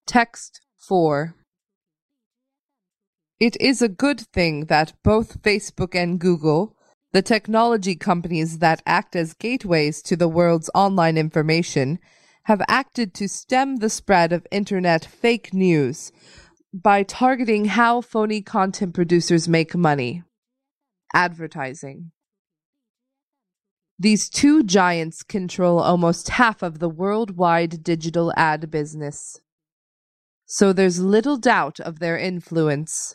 Text 4. It is a good thing that both Facebook and Google, the technology companies that act as gateways to the world's online information, have acted to stem the spread of internet fake news by targeting how phony content producers make money: advertising. These two giants control almost half of the worldwide digital ad business, so there's little doubt of their influence.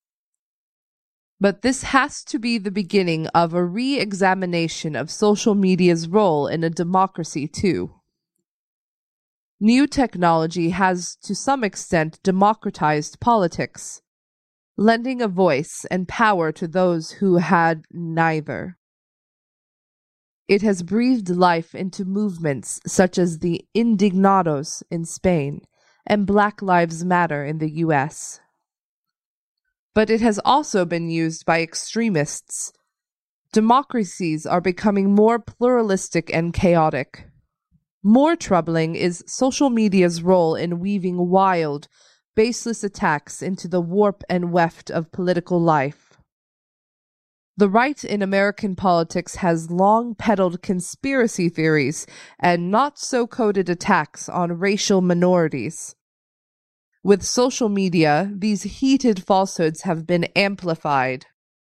But this has to be the beginning of a re-examination of social media's role in a democracy too. New technology has to some extent democratized politics, lending a voice and power to those who had neither. It has breathed life into movements such as the Indignados in Spain and Black Lives Matter in the US. But it has also been used by extremists. Democracies are becoming more pluralistic and chaotic. More troubling is social media's role in weaving wild, baseless attacks into the warp and weft of political life. The right in American politics has long peddled conspiracy theories and not-so-coded attacks on racial minorities. With social media, these heated falsehoods have been amplified.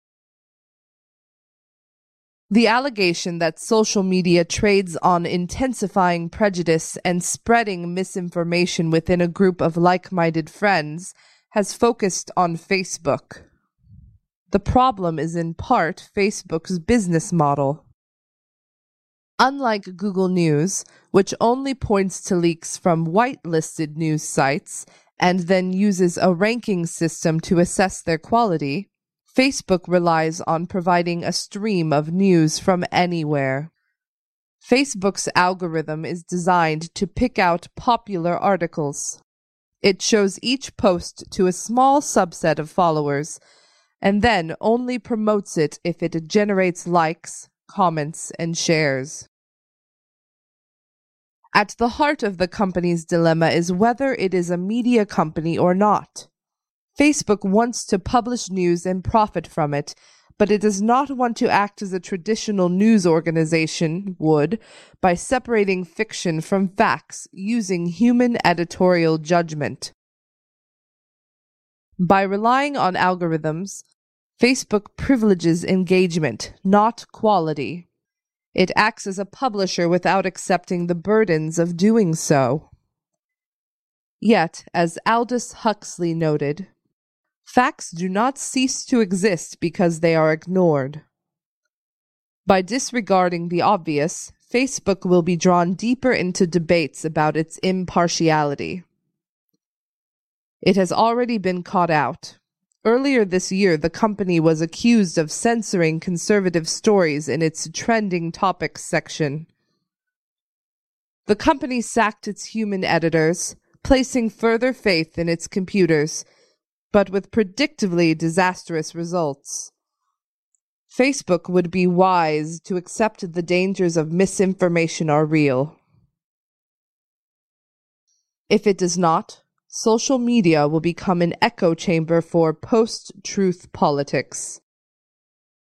The allegation that social media trades on intensifying prejudice and spreading misinformation within a group of like-minded friends has focused on Facebook. The problem is in part Facebook's business model. Unlike Google News, which only points to leaks from whitelisted news sites and then uses a ranking system to assess their quality, Facebook relies on providing a stream of news from anywhere. Facebook's algorithm is designed to pick out popular articles. It shows each post to a small subset of followers, and then only promotes it if it generates likes, comments, and shares. At the heart of the company's dilemma is whether it is a media company or not. Facebook wants to publish news and profit from it, but it does not want to act as a traditional news organization would by separating fiction from facts using human editorial judgment. By relying on algorithms, Facebook privileges engagement, not quality. It acts as a publisher without accepting the burdens of doing so. Yet, as Aldous Huxley noted, facts do not cease to exist because they are ignored. By disregarding the obvious, Facebook will be drawn deeper into debates about its impartiality. It has already been caught out. Earlier this year, the company was accused of censoring conservative stories in its trending topics section. The company sacked its human editors, placing further faith in its computers, but with predictably disastrous results. Facebook would be wise to accept the dangers of misinformation are real. If it does not, social media will become an echo chamber for post-truth politics.